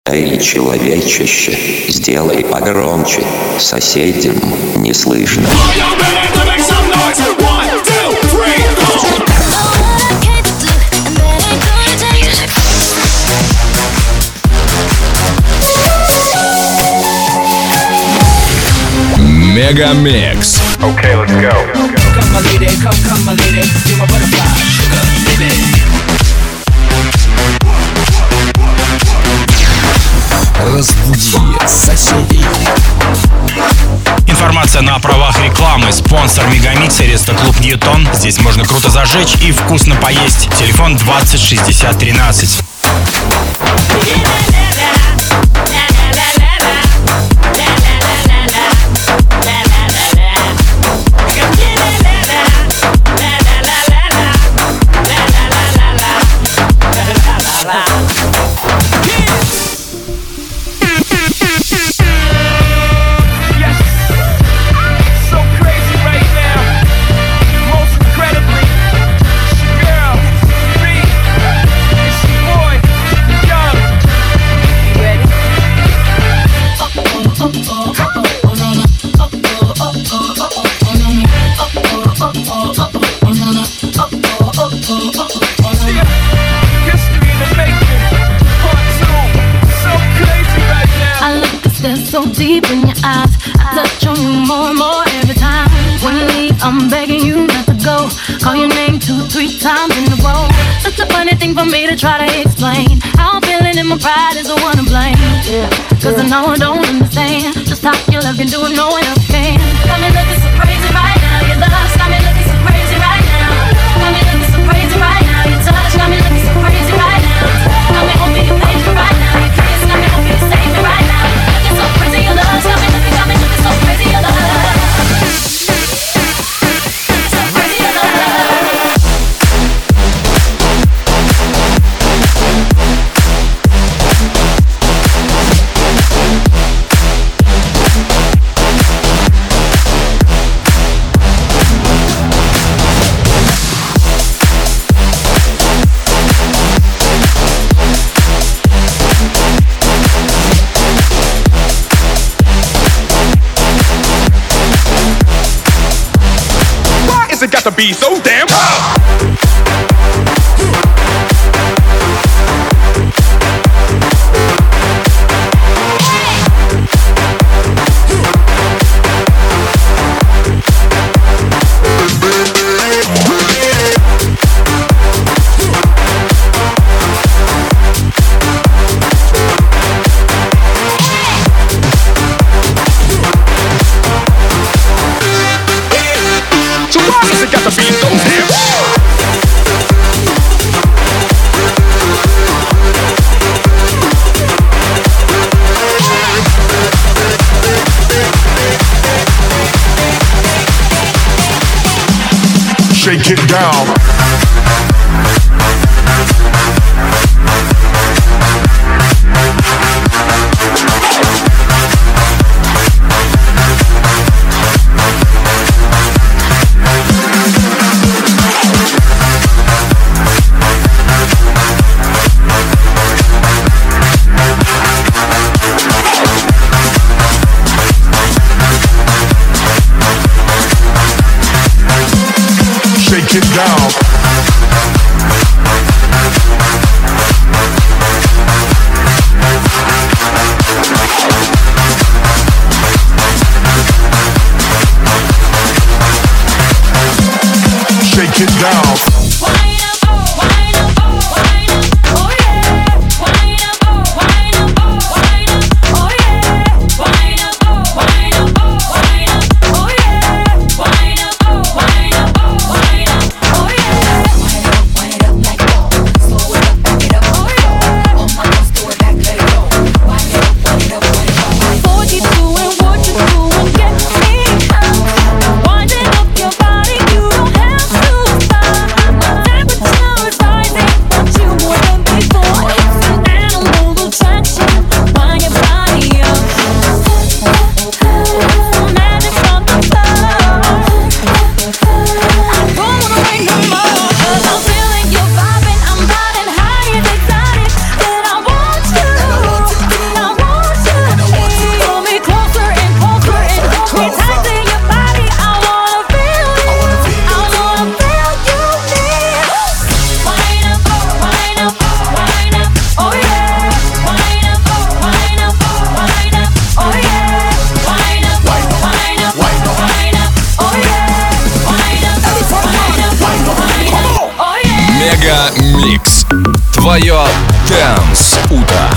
Эй, человечище, сделай погромче, соседям не слышно. Мегамикс. Okay, let's go. Come my lady, come my lady, you're my butterfly, sugar, baby. Разбуди соседей. Информация на правах рекламы. Спонсор Мегамикса — Рестоклуб Ньютон. Здесь можно круто зажечь и вкусно поесть. Телефон 20 60 13. So deep in your eyes, I touch on you more and more every time. When you leave, I'm begging you not to go. Call your name 2-3 times in a row. Such a funny thing for me to try to explain. How I'm feeling and my pride is the one to blame. Yeah, cause I know I don't understand just how your love can do it, no one else can. Got me looking so crazy right now. Your love's got me looking so crazy right now. Got me looking so crazy right now. Your touch got me looking so crazy right now. Got me hoping you thank me right now. Your kiss got me hoping you save me right now. So crazy your love, got me looking so crazy your love. So crazy your love. It got to be so damn hot. It got to be so damn shake it down. Shake it down. Shake it down. твое Dance утро.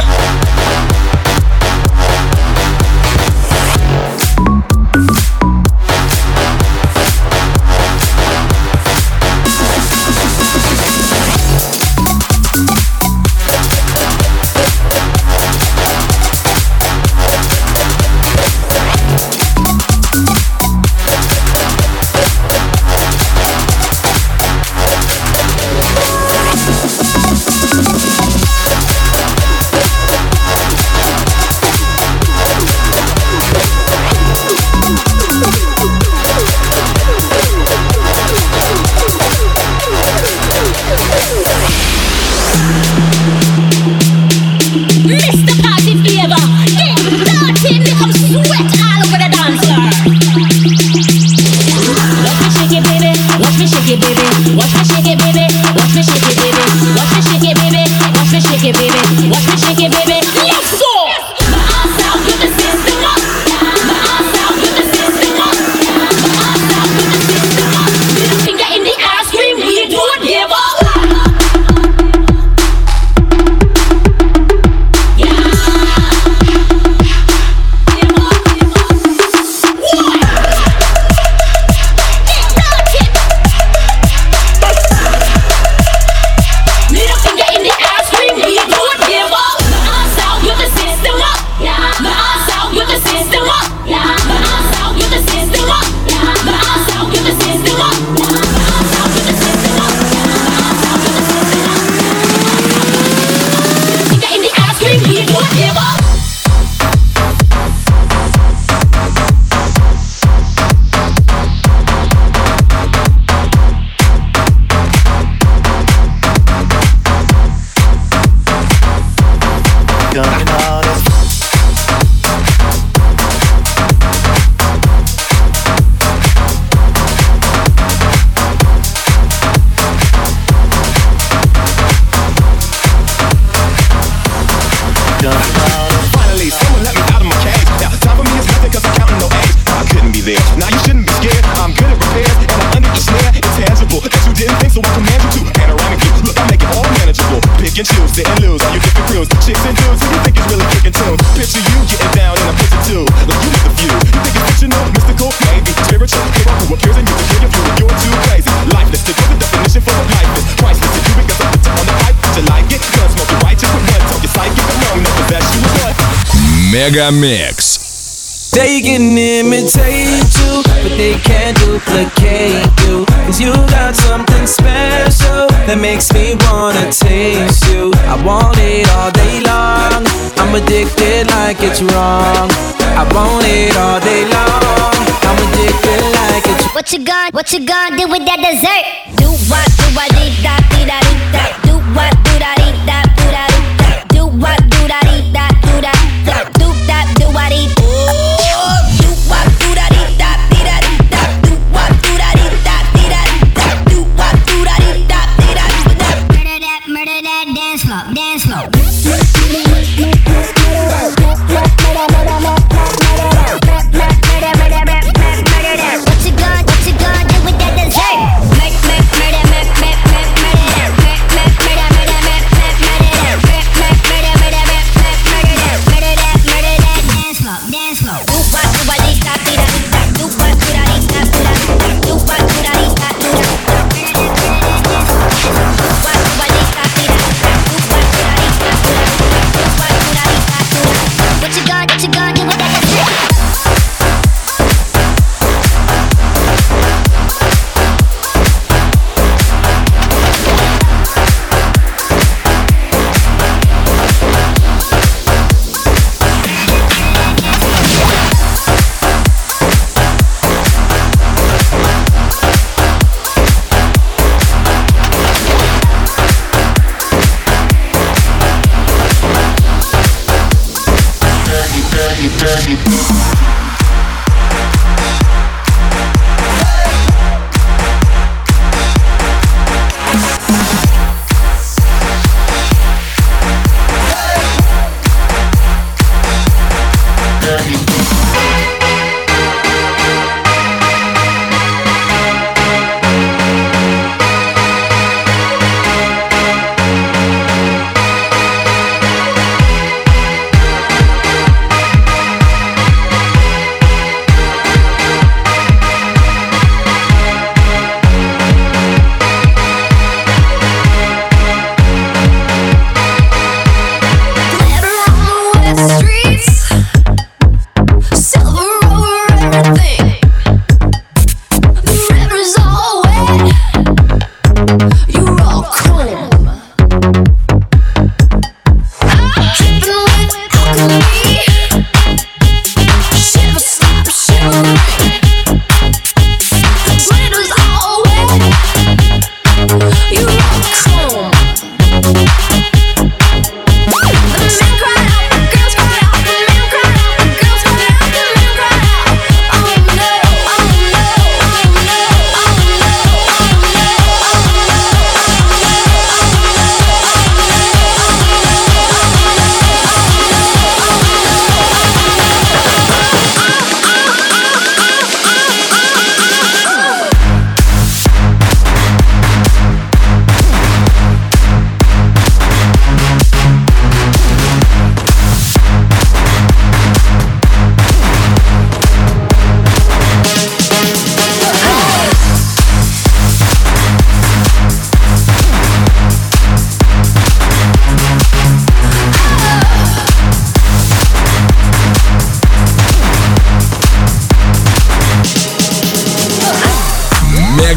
Мегамикс. They can imitate you, but they can't duplicate you. 'Cause you got something special that makes me wanna taste you. I want it all day long. I'm addicted like it's wrong. I want it all day long. I'm addicted like it's What you gonna do with that dessert? Do what, dee da dee da dee da. Do what, do da dee da do da dee da. Do what, do da dee da do da da. Do that, do what dee. Do what, do da dee da dee da dee da. Do what, do da dee da dee da dee da. Do what, do da dee da dee da dee da. Murder that dance floor, dance floor. What you gonna do with that dessert?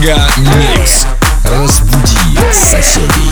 Мега Микс. Разбуди соседей.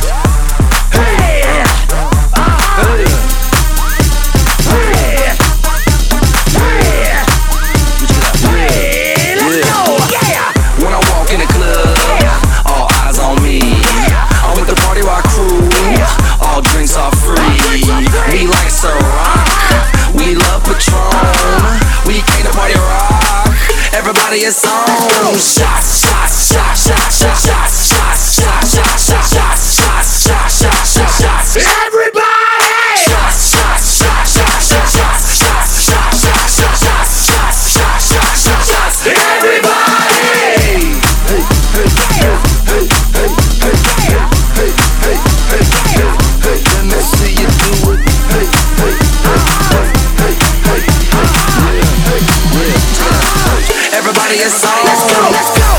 It's on. Shots, shots, shots, shots, shots, shots, shots, shots, shots, shots, shots, shots, shots, shots, shots, shots. Everybody! Shots, shots, shots, shots, shots, shots, shots, shots, shots, shots, shots, shots, shots, shots, shots, shots. Everybody! Hey, hey, hey, hey, hey, hey, hey, hey, hey, hey, hey, hey. Let me see you do it. Hey, hey, hey, hey, hey, hey, hey, hey. Everybody is on. Let's go, let's go.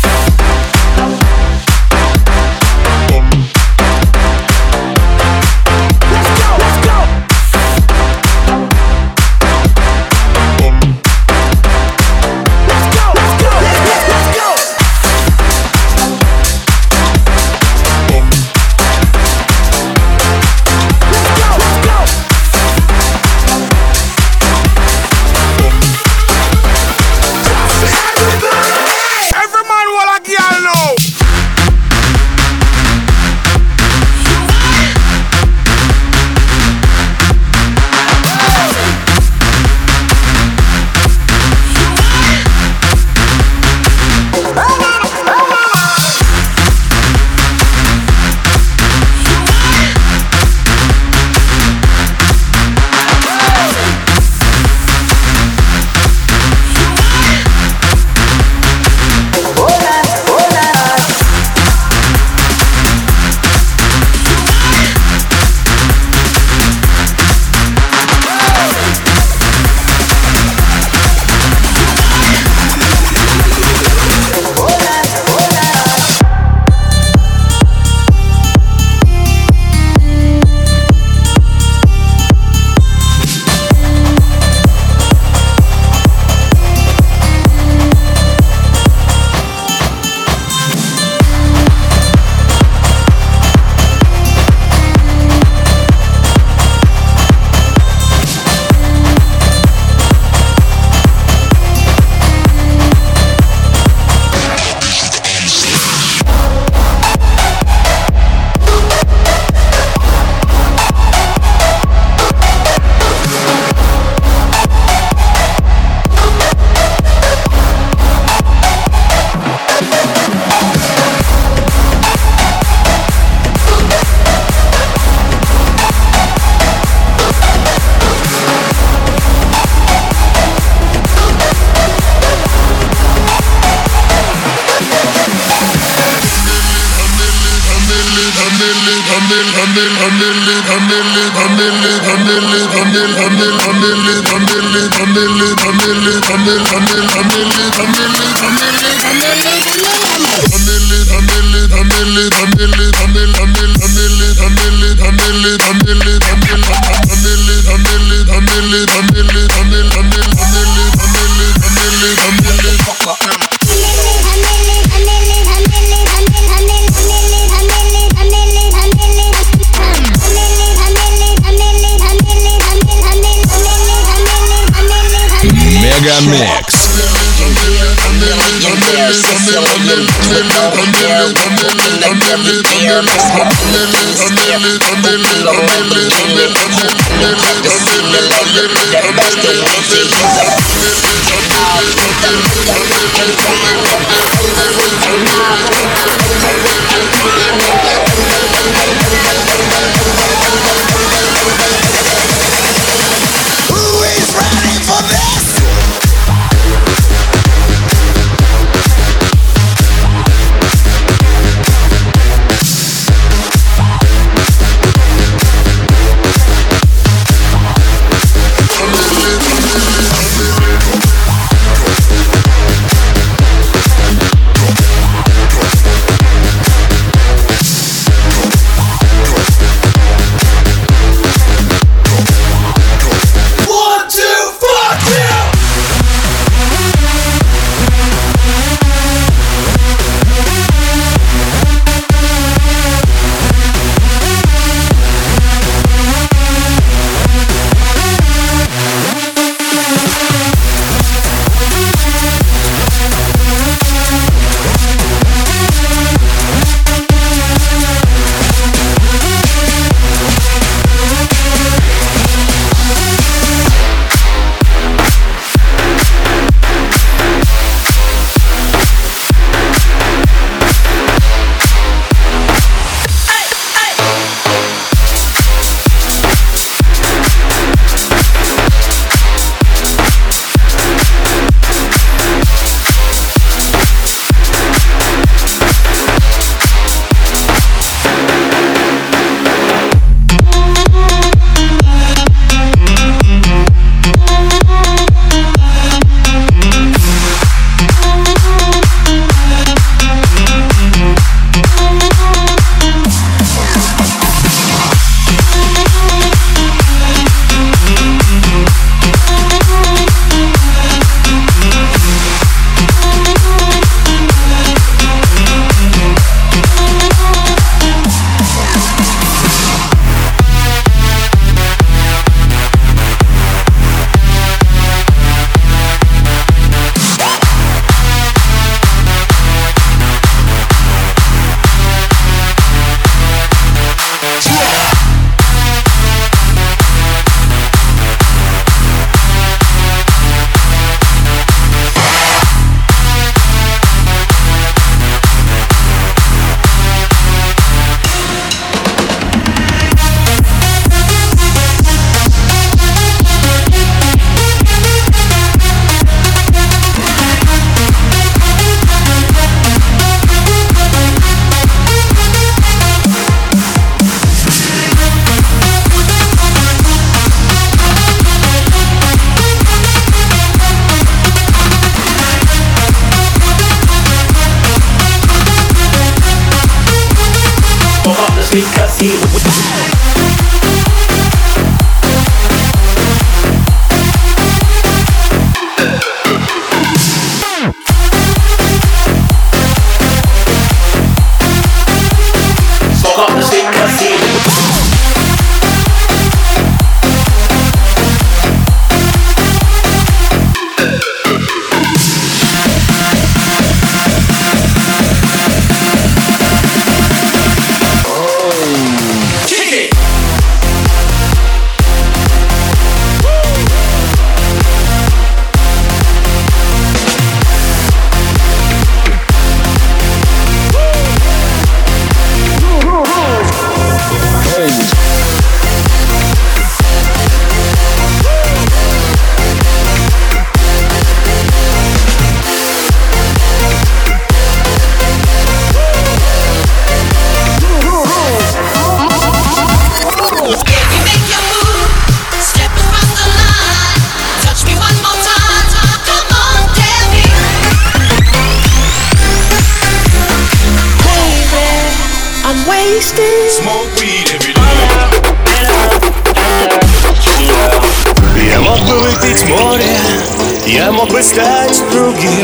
Мега Микс. Who is ready for this? sweet 'cause he smoke up the sweet 'cause he Smoke weed every day. Я мог бы выпить море, я мог бы стать другим.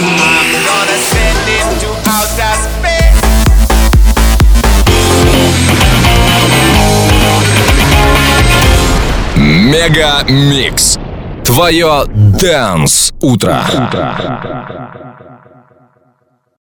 Мега Микс. Твое Dance утро.